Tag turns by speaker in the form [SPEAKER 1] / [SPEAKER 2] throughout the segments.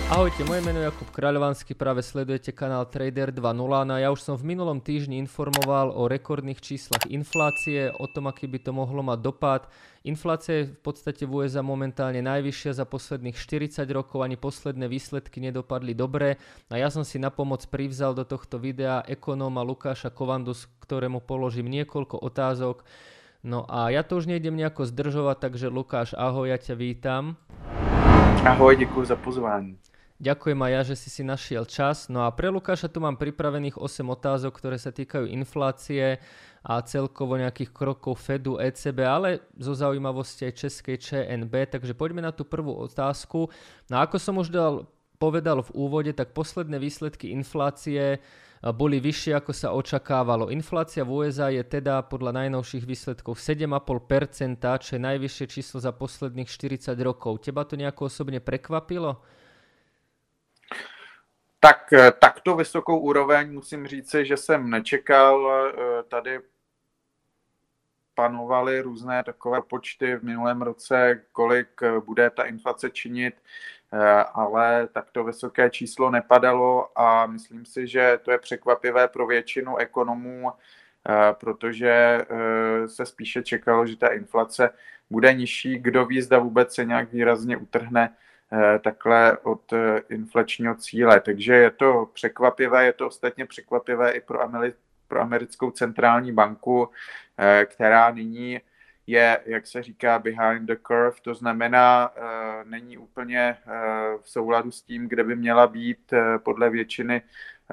[SPEAKER 1] Ahojte, moje meno je Jakub Kráľovanský, práve sledujete kanál Trader 2.0. No a ja už som v minulom týždni informoval o rekordných číslach inflácie, o tom, aký by to mohlo mať dopad. Inflácia je v podstate v USA momentálne najvyššia za posledných 40 rokov, ani posledné výsledky nedopadli dobre. A ja som si na pomoc privzal do tohto videa ekonóma Lukáša Kovandu, ktorému položím niekoľko otázok. No a ja to už nejdem nejako zdržovať, takže Lukáš, ahoj, ja ťa vítam.
[SPEAKER 2] Ahoj, děkuji za pozvání.
[SPEAKER 1] Ďakujem aj ja, že si našiel čas. No a pre Lukáša tu mám pripravených 8 otázok, ktoré sa týkajú inflácie a celkovo nejakých krokov Fedu, ECB, ale zo zaujímavosti aj českej ČNB. Takže poďme na tú prvú otázku. No a ako som už povedal v úvode, tak posledné výsledky inflácie boli vyššie, ako sa očakávalo. Inflácia v USA je teda podľa najnovších výsledkov 7,5%, čo je najvyššie číslo za posledných 40 rokov. Teba to nejako osobne prekvapilo?
[SPEAKER 2] Tak takto vysokou úroveň musím říci, že jsem nečekal. Tady panovaly různé takové počty v minulém roce, kolik bude ta inflace činit, ale takto vysoké číslo nepadalo a myslím si, že to je překvapivé pro většinu ekonomů, protože se spíše čekalo, že ta inflace bude nižší. Kdo ví, zda vůbec se nějak výrazně utrhne takhle od inflačního cíle. Takže je to překvapivé, je to ostatně překvapivé i pro americkou centrální banku, která nyní je, jak se říká, behind the curve, to znamená, není úplně v souladu s tím, kde by měla být podle většiny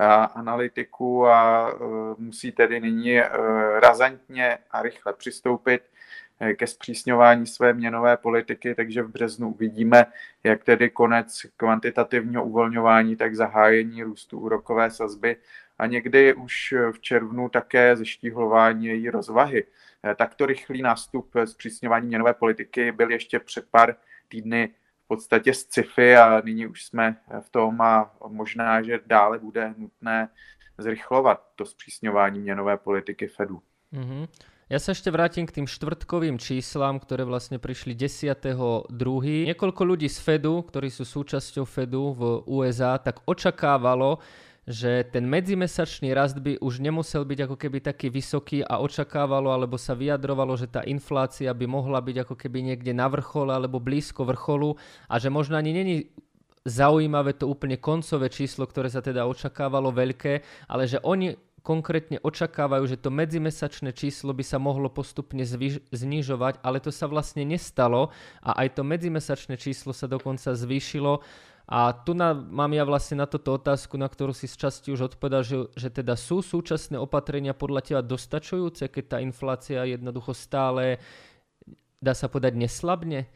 [SPEAKER 2] analytiků a musí tedy nyní razantně a rychle přistoupit ke zpřísňování své měnové politiky, takže v březnu uvidíme, jak tedy konec kvantitativního uvolňování, tak zahájení růstu úrokové sazby a někdy už v červnu také zeštíhlování její rozvahy. Takto rychlý nástup zpřísňování měnové politiky byl ještě před pár týdny v podstatě sci-fi a nyní už jsme v tom a možná, že dále bude nutné zrychlovat to zpřísňování měnové politiky Fedu.
[SPEAKER 1] Mm-hmm. Ja sa ešte vrátim k tým štvrtkovým číslam, ktoré vlastne prišli 10.2. Niekoľko ľudí z Fedu, ktorí sú súčasťou Fedu v USA, tak očakávalo, že ten medzimesačný rast by už nemusel byť ako keby taký vysoký a očakávalo, alebo sa vyjadrovalo, že tá inflácia by mohla byť ako keby niekde na vrchole alebo blízko vrcholu a že možno ani není zaujímavé to úplne koncové číslo, ktoré sa teda očakávalo veľké, ale že oni konkrétne očakávajú, že to medzimesačné číslo by sa mohlo postupne znižovať, ale to sa vlastne nestalo a aj to medzimesačné číslo sa dokonca zvýšilo. A tu mám ja vlastne na toto otázku, na ktorú si z časti už odpovedal, že teda sú súčasné opatrenia podľa teba dostačujúce, keď tá inflácia jednoducho stále, dá sa povedať, neslabne?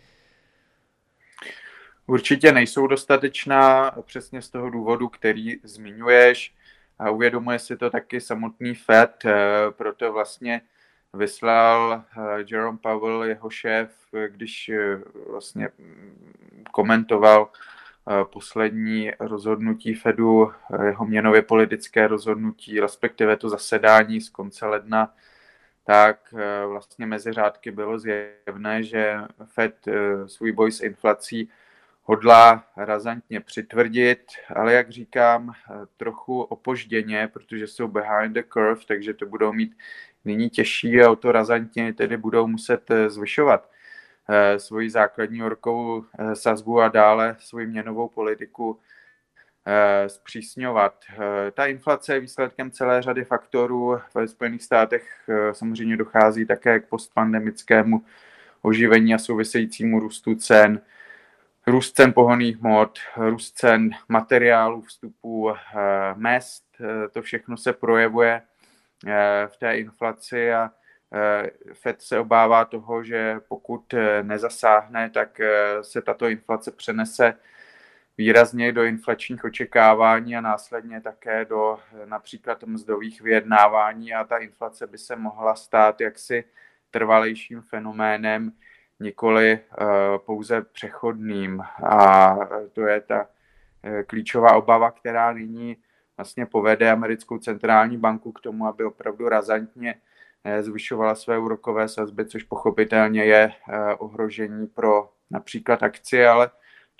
[SPEAKER 2] Určitě nejsou dostatečná, přesně z toho důvodu, který zmiňuješ. A uvědomuje si to taky samotný Fed, proto vlastně vyslal Jerome Powell, jeho šéf, když vlastně komentoval poslední rozhodnutí Fedu, jeho měnově politické rozhodnutí, respektive to zasedání z konce ledna, tak vlastně mezi řádky bylo zjevné, že Fed svůj boj s inflací hodlá razantně přitvrdit, ale jak říkám, trochu opožděně, protože jsou behind the curve, takže to budou mít nyní těžší a o to razantně tedy budou muset zvyšovat svoji základní úrokovou sazbu a dále svoji měnovou politiku zpřísňovat. Ta inflace je výsledkem celé řady faktorů. Ve Spojených státech samozřejmě dochází také k postpandemickému oživení a souvisejícímu růstu cen. Růst cen pohonných hmot, růst cen materiálů, vstupů, mezd, to všechno se projevuje v té inflaci a Fed se obává toho, že pokud nezasáhne, tak se tato inflace přenese výrazně do inflačních očekávání a následně také do například mzdových vyjednávání a ta inflace by se mohla stát jaksi trvalejším fenoménem, nikoli pouze přechodným. A to je ta klíčová obava, která nyní vlastně povede americkou centrální banku k tomu, aby opravdu razantně zvyšovala své úrokové sazby, což pochopitelně je ohrožení pro například akcie, ale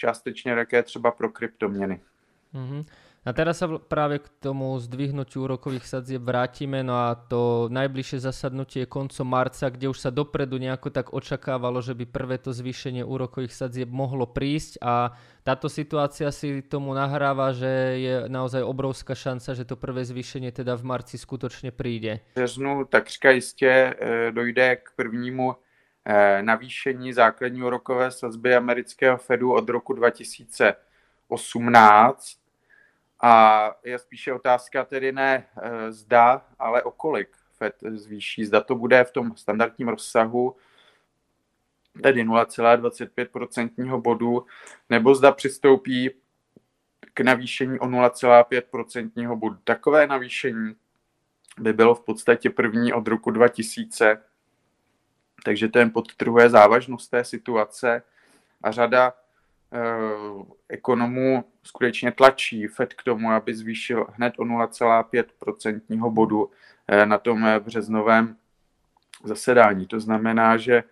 [SPEAKER 2] částečně také třeba pro kryptoměny.
[SPEAKER 1] Mm-hmm. A teraz sa práve k tomu zdvihnutiu úrokových sadzieb vrátime, no a to najbližšie zasadnutie je koncom marca, kde už sa dopredu nejako tak očakávalo, že by prvé to zvýšenie úrokových sadzieb mohlo prísť a táto situácia si tomu nahráva, že je naozaj obrovská šanca, že to prvé zvýšenie teda v marci skutočne príde.
[SPEAKER 2] V březnu takřka jistě dojde k prvnímu navýšení základní úrokové sazby amerického Fedu od roku 2018. A je spíše otázka tedy ne zda, ale o kolik Fed zvýší. Zda to bude v tom standardním rozsahu, tedy 0,25% bodu, nebo zda přistoupí k navýšení o 0,5% bodu. Takové navýšení by bylo v podstatě první od roku 2000, takže to jen podtrhuje závažnost té situace a řada ekonomů skutečně tlačí Fed k tomu, aby zvýšil hned o 0,5% bodu na tom březnovém zasedání. To znamená, že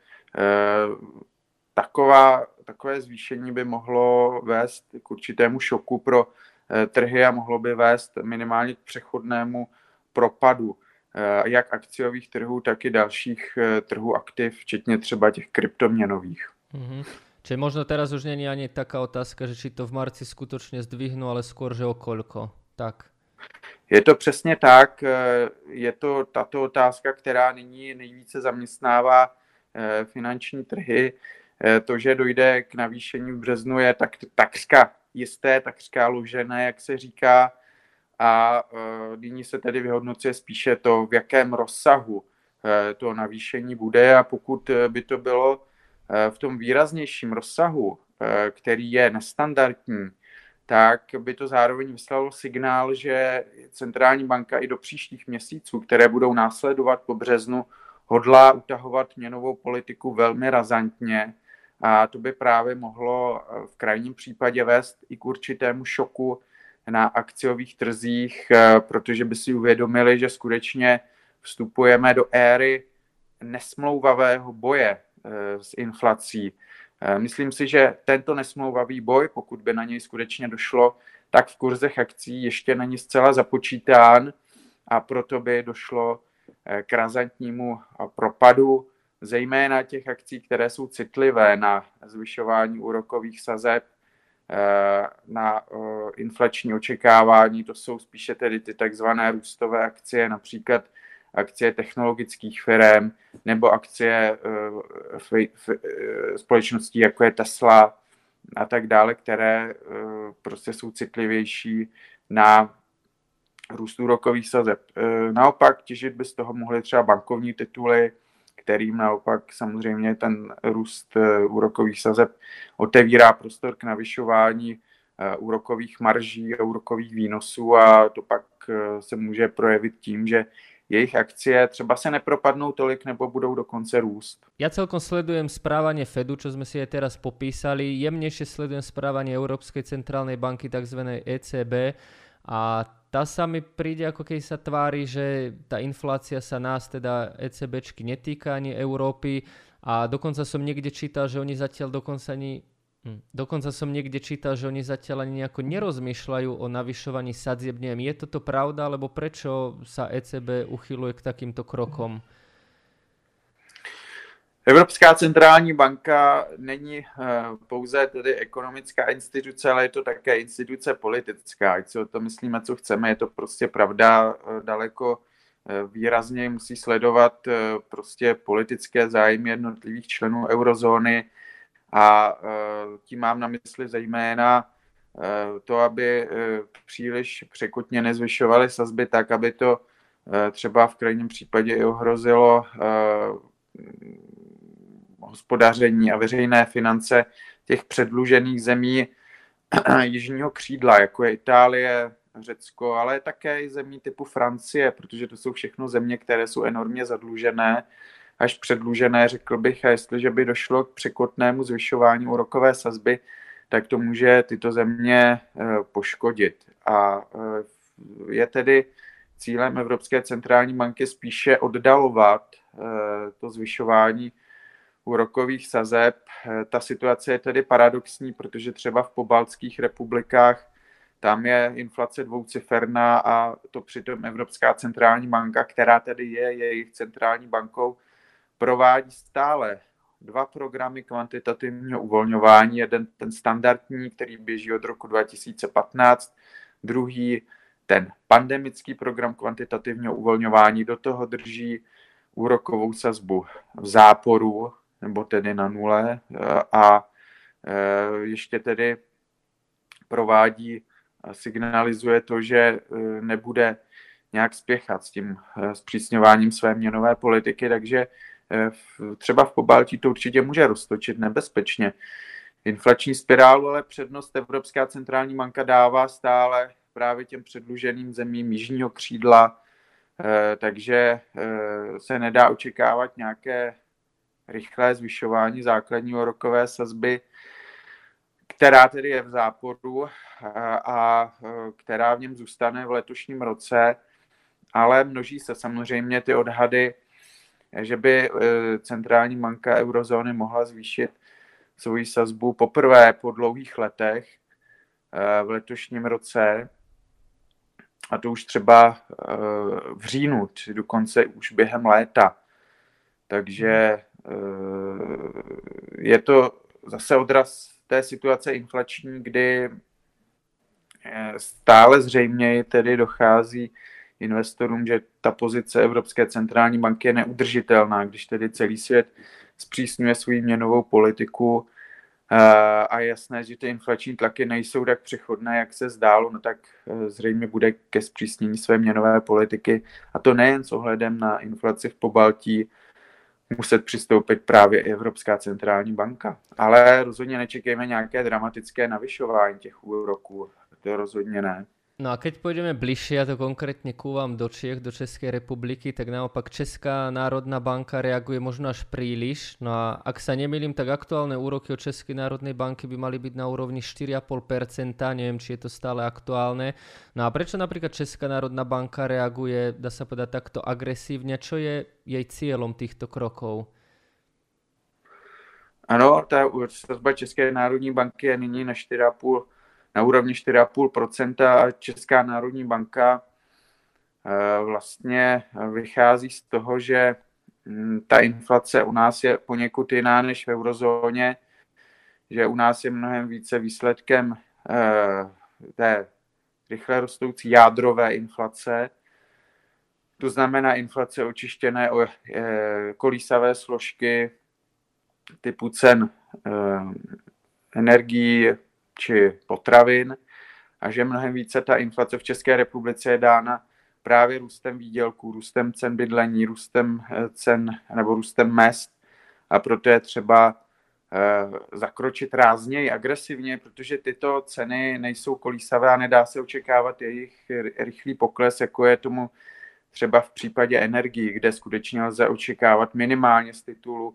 [SPEAKER 2] takové zvýšení by mohlo vést k určitému šoku pro trhy a mohlo by vést minimálně k přechodnému propadu jak akciových trhů, tak i dalších trhů aktiv, včetně třeba těch kryptoměnových.
[SPEAKER 1] Mm-hmm. Čiže možno teraz už nie je ani taká otázka, že či to v marci skutočne zdvihnú, ale skôr, že o koľko. Tak.
[SPEAKER 2] Je to přesně tak. Je to tato otázka, která nyní nejvíce zaměstnává finanční trhy. To, že dojde k navýšení v březnu, je takřka jisté, takřka ložené, jak se říká. A nyní se tedy vyhodnocuje spíše to, v jakém rozsahu to navýšení bude. A pokud by to bylo v tom výraznějším rozsahu, který je nestandardní, tak by to zároveň vyslalo signál, že centrální banka i do příštích měsíců, které budou následovat po březnu, hodlá utahovat měnovou politiku velmi razantně a to by právě mohlo v krajním případě vést i k určitému šoku na akciových trzích, protože by si uvědomili, že skutečně vstupujeme do éry nesmlouvavého boje s inflací. Myslím si, že tento nesmlouvavý boj, pokud by na něj skutečně došlo, tak v kurzech akcí ještě není zcela započítán a proto by došlo k razantnímu propadu, zejména těch akcí, které jsou citlivé na zvyšování úrokových sazeb, na inflační očekávání. To jsou spíše tedy ty takzvané růstové akcie, například akcie technologických firm nebo akcie společností, jako je Tesla a tak dále, které prostě jsou citlivější na růst úrokových sazeb. Naopak těžit by z toho mohly třeba bankovní tituly, kterým naopak samozřejmě ten růst úrokových sazeb otevírá prostor k navyšování úrokových marží a úrokových výnosů a to pak se může projevit tím, že jejich akcie třeba se nepropadnou tolik nebo budou dokonce růst.
[SPEAKER 1] Ja celkom sledujem správanie Fedu, čo sme si aj teraz popísali. Jemnejšie sledujem správanie Európskej centrálnej banky, tzv. ECB. A tá sa mi príde, ako keď sa tvári, že tá inflácia sa nás, teda ECBčky, netýka ani Európy. A dokonca som niekde čítal, že oni zatiaľ oni zatiaľ ani nejako nerozmýšľajú o navyšovaní sadzieb. Neviem, je toto pravda, alebo prečo sa ECB uchyluje k takýmto krokom?
[SPEAKER 2] Evropská centrální banka není pouze tedy ekonomická instituce, ale je to také instituce politická. Ať si o to myslíme, co chceme, je to prostě pravda. Daleko výrazně musí sledovat prostě politické zájmy jednotlivých členů eurozóny a tím mám na mysli zejména to, aby příliš překotně nezvyšovaly sazby tak, aby to třeba v krajním případě i ohrozilo hospodaření a veřejné finance těch předlužených zemí jižního křídla, jako je Itálie, Řecko, ale také i zemí typu Francie, protože to jsou všechno země, které jsou enormně zadlužené, až předlužené, řekl bych, a jestliže by došlo k překotnému zvyšování úrokové sazby, tak to může tyto země poškodit. A je tedy cílem Evropské centrální banky spíše oddalovat to zvyšování úrokových sazeb. Ta situace je tedy paradoxní, protože třeba v pobaltských republikách tam je inflace dvouciferná a to přitom Evropská centrální banka, která tedy je jejich centrální bankou, provádí stále 2 programy kvantitativního uvolňování. Jeden ten standardní, který běží od roku 2015, druhý ten pandemický program kvantitativního uvolňování, do toho drží úrokovou sazbu v záporu, nebo tedy na nule, a ještě tedy provádí a signalizuje to, že nebude nějak spěchat s tím zpřísňováním své měnové politiky, takže třeba v Pobaltí to určitě může roztočit nebezpečně. Inflační spirálu ale přednost Evropská centrální banka dává stále právě těm předluženým zemím jižního křídla, takže se nedá očekávat nějaké rychlé zvyšování základní úrokové sazby, která tedy je v záporu a která v něm zůstane v letošním roce, ale množí se samozřejmě ty odhady, že by centrální banka eurozóny mohla zvýšit svoji sazbu poprvé po dlouhých letech v letošním roce, a to už třeba v říjnu, či dokonce už během léta. Takže je to zase odraz té situace inflační, kdy stále zřejmě tedy dochází investorům, že ta pozice Evropské centrální banky je neudržitelná, když tedy celý svět zpřísňuje svou měnovou politiku a je jasné, že ty inflační tlaky nejsou tak přechodné, jak se zdálo, no tak zřejmě bude ke zpřísnění své měnové politiky, a to nejen s ohledem na inflaci v Pobaltí muset přistoupit právě i Evropská centrální banka. Ale rozhodně nečekejme nějaké dramatické navyšování těch úroků, to rozhodně ne.
[SPEAKER 1] No a keď pôjdeme bližšie, a to konkrétne ku vám do Čiech, do Českej republiky, tak naopak Česká národná banka reaguje možno až príliš. No a ak sa nemýlim, tak aktuálne úroky od Českej národnej banky by mali byť na úrovni 4,5%. Neviem, či je to stále aktuálne. No a prečo napríklad Česká národná banka reaguje, dá sa povedať, takto agresívne? Čo je jej cieľom týchto krokov?
[SPEAKER 2] Ano, ta sazba České národní banky je nyní na úrovni 4,5% a Česká národní banka vlastně vychází z toho, že ta inflace u nás je poněkud jiná než v eurozóně, že u nás je mnohem více výsledkem té rychle rostoucí jádrové inflace. To znamená inflace očištěné o kolísavé složky typu cen energií či potravin, a že mnohem více ta inflace v České republice je dána právě růstem výdělků, růstem cen bydlení, růstem cen nebo růstem mezd, a proto je třeba zakročit rázněji, agresivně, protože tyto ceny nejsou kolísavé a nedá se očekávat jejich rychlý pokles, jako je tomu třeba v případě energií, kde skutečně lze očekávat minimálně z titulu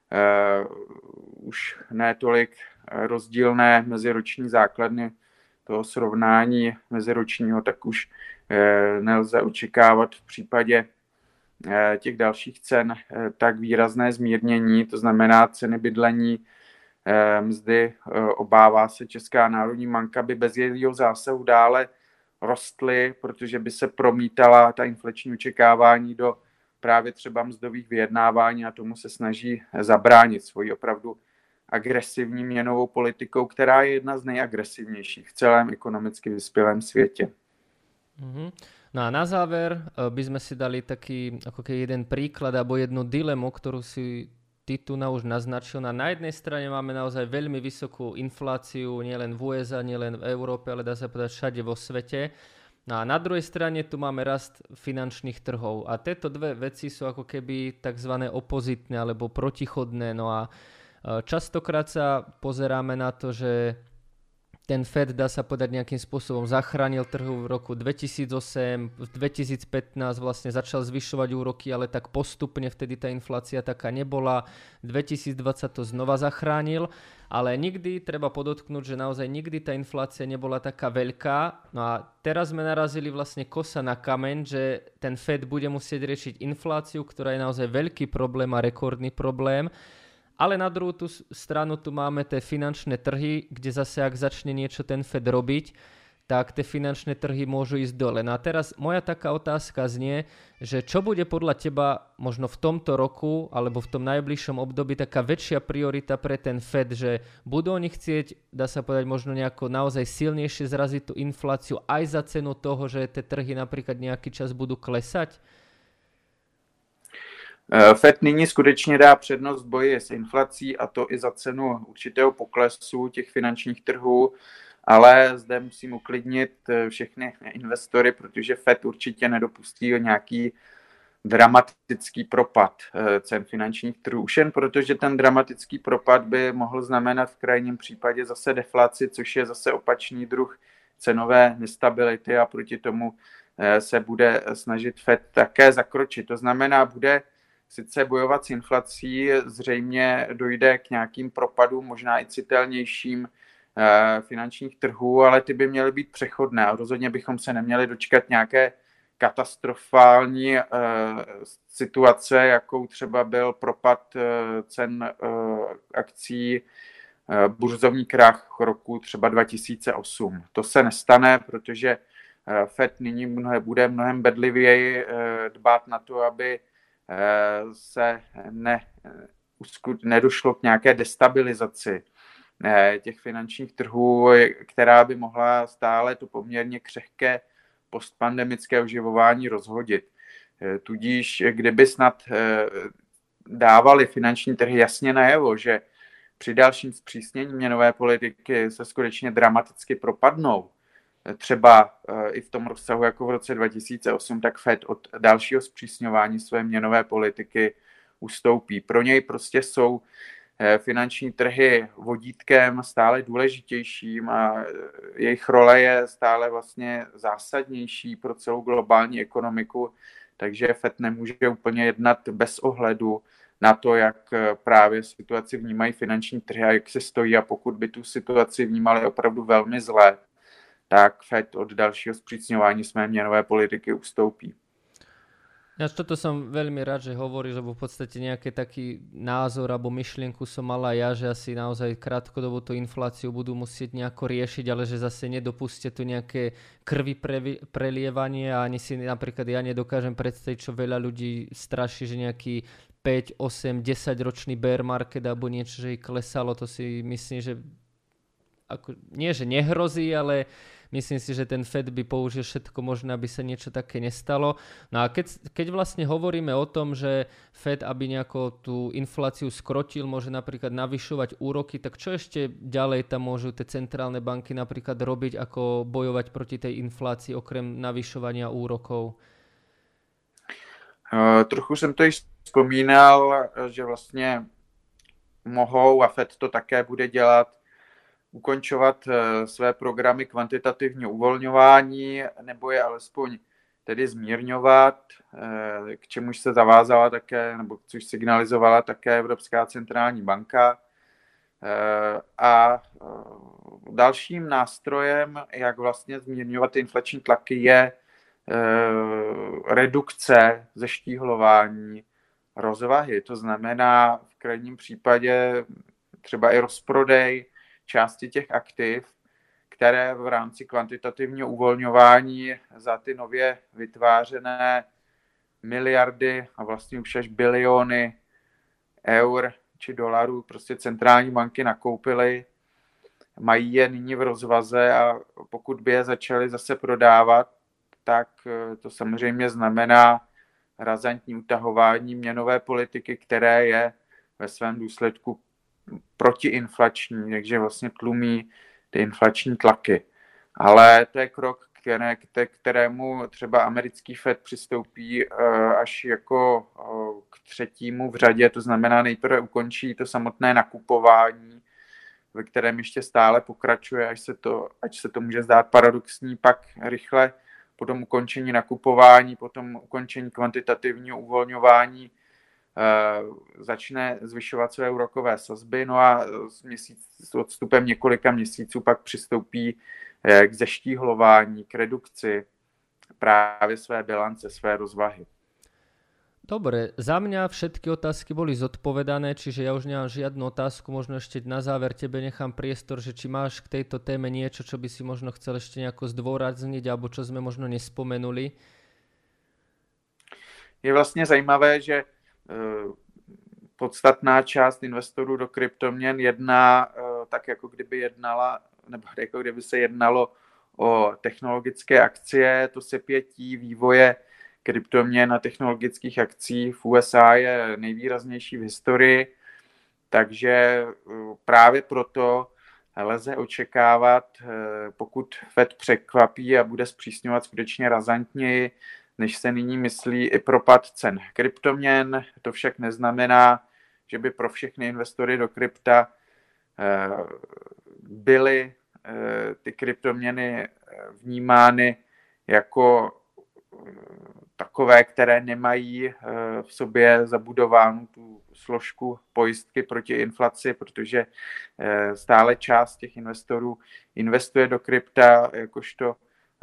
[SPEAKER 2] už ne tolik rozdílné meziroční základny toho srovnání meziročního, tak už nelze očekávat v případě těch dalších cen tak výrazné zmírnění, to znamená ceny bydlení, mzdy, obává se Česká národní banka, by bez jejího zásahu dále rostly, protože by se promítala ta inflační očekávání do právě třeba mzdových vyjednávání, a tomu se snaží zabránit svojí opravdu agresivní měnovou politikou, která je jedna z nejagresivnějších v celém ekonomicky vyspělém světě.
[SPEAKER 1] Mm-hmm. No a na záver by sme si dali taký ako keby jeden príklad alebo jednu dilemu, ktorú si ty tu už naznačil. Na jednej strane máme naozaj veľmi vysokú infláciu, nielen v USA, nielen v Európe, ale dá sa povedať všade vo svete. No a na druhej strane tu máme rast finančných trhov. A tieto dve veci sú ako keby tzv. Opozitné alebo protichodné. No a častokrát sa pozeráme na to, že ten Fed, dá sa povedať, nejakým spôsobom zachránil trhu v roku 2008, v 2015 vlastne začal zvyšovať úroky, ale tak postupne vtedy tá inflácia taká nebola. 2020 to znova zachránil, ale nikdy treba podotknúť, že naozaj nikdy tá inflácia nebola taká veľká. No a teraz sme narazili vlastne kosa na kameň, že ten Fed bude musieť riešiť infláciu, ktorá je naozaj veľký problém a rekordný problém. Ale na druhú stranu tu máme tie finančné trhy, kde zase ak začne niečo ten Fed robiť, tak tie finančné trhy môžu ísť dole. No a teraz moja taká otázka znie, že čo bude podľa teba možno v tomto roku alebo v tom najbližšom období taká väčšia priorita pre ten Fed, že budú oni chcieť, dá sa povedať, možno nejako naozaj silnejšie zraziť tú infláciu aj za cenu toho, že tie trhy napríklad nejaký čas budú klesať?
[SPEAKER 2] Fed nyní skutečně dá přednost boji s inflací, a to i za cenu určitého poklesu těch finančních trhů, ale zde musím uklidnit všechny investory, protože Fed určitě nedopustí nějaký dramatický propad cen finančních trhů. Už jen protože ten dramatický propad by mohl znamenat v krajním případě zase deflaci, což je zase opačný druh cenové nestability, a proti tomu se bude snažit Fed také zakročit. To znamená, bude sice bojovat s inflací, zřejmě dojde k nějakým propadům, možná i citelnějším finančních trhů, ale ty by měly být přechodné a rozhodně bychom se neměli dočkat nějaké katastrofální situace, jakou třeba byl propad cen akcí, burzovní krach roku třeba 2008. To se nestane, protože Fed nyní bude mnohem bedlivěji dbát na to, aby se nedošlo k nějaké destabilizaci těch finančních trhů, která by mohla stále to poměrně křehké postpandemické oživování rozhodit. Tudíž, kdyby snad dávali finanční trhy jasně najevo, že při dalším zpřísnění měnové politiky se skutečně dramaticky propadnou, třeba i v tom rozsahu jako v roce 2008, tak Fed od dalšího zpřísňování své měnové politiky ustoupí. Pro něj prostě jsou finanční trhy vodítkem stále důležitějším a jejich role je stále vlastně zásadnější pro celou globální ekonomiku, takže Fed nemůže úplně jednat bez ohledu na to, jak právě situaci vnímají finanční trhy a jak se stojí, a pokud by tu situaci vnímali opravdu velmi zle, tak Fed od dalšího sprísňování své měnové politiky ustoupí.
[SPEAKER 1] Ja toto som veľmi rád, že hovoríš, lebo v podstate nejaký taký názor alebo myšlienku som mala ja, že asi naozaj krátkodobo tú infláciu budú musieť nejako riešiť, ale že zase nedopustia tu nejaké krvi prelievanie, a ani si napríklad ja nedokážem predstaviť, čo veľa ľudí straší, že nejaký 5, 8, 10 ročný bear market alebo niečo, že ich klesalo. To si myslím, že nie, že nehrozí, ale myslím si, že ten Fed by použil všetko možné, aby sa niečo také nestalo. No a keď vlastne hovoríme o tom, že Fed, aby nejako tú infláciu skrotil, môže napríklad navyšovať úroky, tak čo ešte ďalej tam môžu tie centrálne banky napríklad robiť, ako bojovať proti tej inflácii, okrem navyšovania úrokov?
[SPEAKER 2] Trochu jsem to již vzpomínal, že vlastně mohou, a Fed to také bude dělat, ukončovat své programy kvantitativního uvolňování, nebo je alespoň tedy zmírňovat, k čemuž se zavázala také, nebo což signalizovala také Evropská centrální banka. A dalším nástrojem, jak vlastně zmírňovat inflační tlaky, je redukce zeštíhlování rozvahy. To znamená v krajním případě třeba i rozprodej části těch aktiv, které v rámci kvantitativního uvolňování za ty nově vytvářené miliardy a vlastně už až biliony eur či dolarů prostě centrální banky nakoupily, mají je nyní v rozvaze, a pokud by je začaly zase prodávat, tak to samozřejmě znamená razantní utahování měnové politiky, které je ve svém důsledku protiinflační, takže vlastně tlumí ty inflační tlaky. Ale to je krok, k kterému třeba americký Fed přistoupí až jako k třetímu v řadě, to znamená nejprve ukončí to samotné nakupování, ve kterém ještě stále pokračuje, až se to může zdát paradoxní, pak rychle po tom ukončení nakupování, po tom ukončení kvantitativního uvolňování začne zvyšovat své úrokové sazby, no a s odstupem několika měsíců pak přistoupí k zeštíhlování, k redukci právě své bilance, své rozvahy.
[SPEAKER 1] Dobre, za mňa všetky otázky boli zodpovedané, čiže ja už nemám žiadnu otázku, možno ešte na záver tebe nechám priestor, že či máš k tejto téme niečo, čo by si možno chcel ešte nejako zdôrazniť, alebo čo sme možno nespomenuli.
[SPEAKER 2] Je vlastně zajímavé, že podstatná část investorů do kryptoměn jedná tak, jako kdyby jednala, nebo jako kdyby se jednalo o technologické akcie. To sepětí vývoje kryptoměn a technologických akcí v USA je nejvýraznější v historii, takže právě proto lze očekávat, pokud Fed překvapí a bude zpřísňovat skutečně razantněji, než se nyní myslí, i propad cen kryptoměn. To však neznamená, že by pro všechny investory do krypta byly ty kryptoměny vnímány jako takové, které nemají v sobě zabudovánu tu složku pojistky proti inflaci, protože stále část těch investorů investuje do krypta jakožto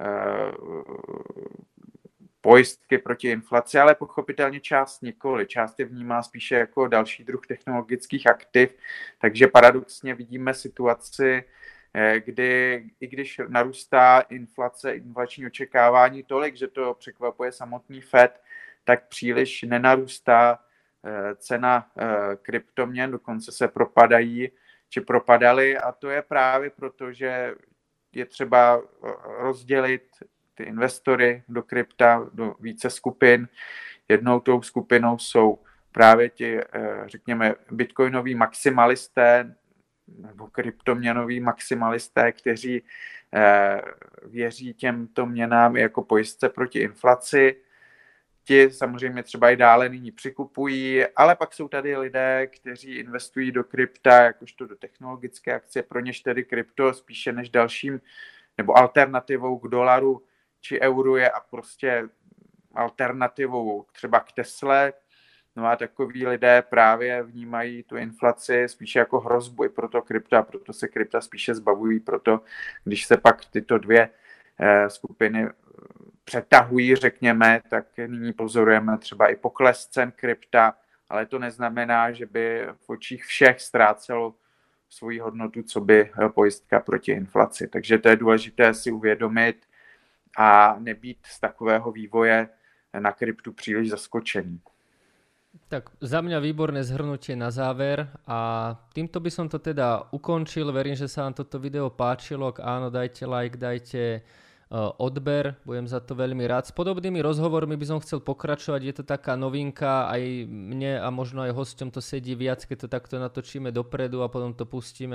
[SPEAKER 2] pojistky proti inflaci, ale pochopitelně část nikoli. Část je vnímá spíše jako další druh technologických aktiv, takže paradoxně vidíme situaci, kdy i když narůstá inflace, inflační očekávání tolik, že to překvapuje samotný Fed, tak příliš nenarůstá cena kryptoměn, dokonce se propadají či propadaly, a to je právě proto, že je třeba rozdělit ty investory do krypta do více skupin. Jednou tou skupinou jsou právě ti, řekněme, bitcoinoví maximalisté nebo kryptoměnoví maximalisté, kteří věří těmto měnám jako pojistce proti inflaci. Ti samozřejmě třeba i dále nyní přikupují, ale pak jsou tady lidé, kteří investují do krypta jakožto do technologické akcie, pro něž tedy krypto spíše než dalším nebo alternativou k dolaru či euru je a prostě alternativou třeba k Tesle. No a takoví lidé právě vnímají tu inflaci spíše jako hrozbu i pro to krypta, proto se krypta spíše zbavují, proto když se pak tyto dvě skupiny přetahují, řekněme, tak nyní pozorujeme třeba i pokles cen krypta, ale to neznamená, že by v očích všech ztrácelo svoji hodnotu, co by pojistka proti inflaci. Takže to je důležité si uvědomit a nebýt z takového vývoje na kryptu příliš zaskočený.
[SPEAKER 1] Tak za mňa výborné zhrnutie na záver a týmto by som to teda ukončil. Verím, že sa vám toto video páčilo. Ak áno, dajte like, dajte odber, budem za to veľmi rád. S podobnými rozhovormi by som chcel pokračovať, je to taká novinka, aj mne a možno aj hosťom to sedí viac, keď to takto natočíme dopredu a potom to pustíme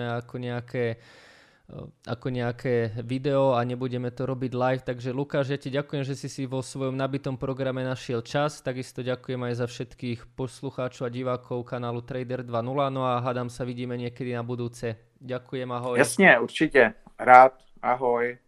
[SPEAKER 1] ako nejaké video a nebudeme to robiť live. Takže Lukáš, ja ti ďakujem, že si vo svojom nabitom programe našiel čas. Takisto ďakujem aj za všetkých poslucháčov a divákov kanálu Trader 2.0. No a hádam sa vidíme niekedy na budúce. Ďakujem, ahoj.
[SPEAKER 2] Jasně, určitě. Rád. Ahoj.